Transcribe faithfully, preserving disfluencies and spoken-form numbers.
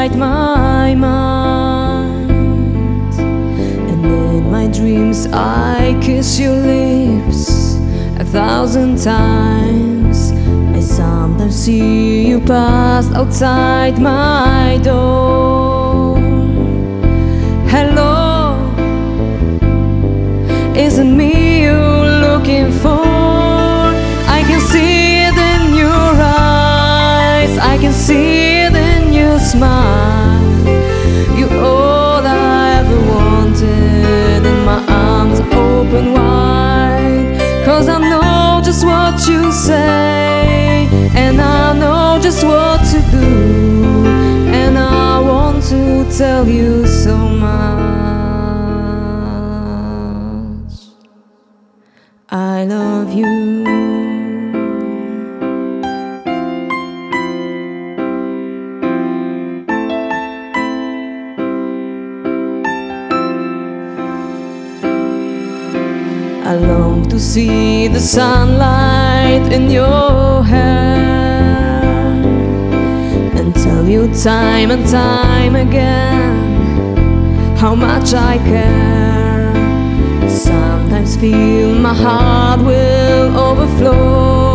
outside my mind, and in my dreams I kiss your lips a thousand times. I sometimes see you pass outside my door. Hello, is it me you're looking for? I can see it in your eyes, I can see it in your smile. You're all I ever wanted, and my arms are open wide. Cause I know just what you say, and I know just what to do, and I want to tell you so much. I love you. I long to see the sunlight in your hair, and tell you time and time again how much I care. Sometimes feel my heart will overflow.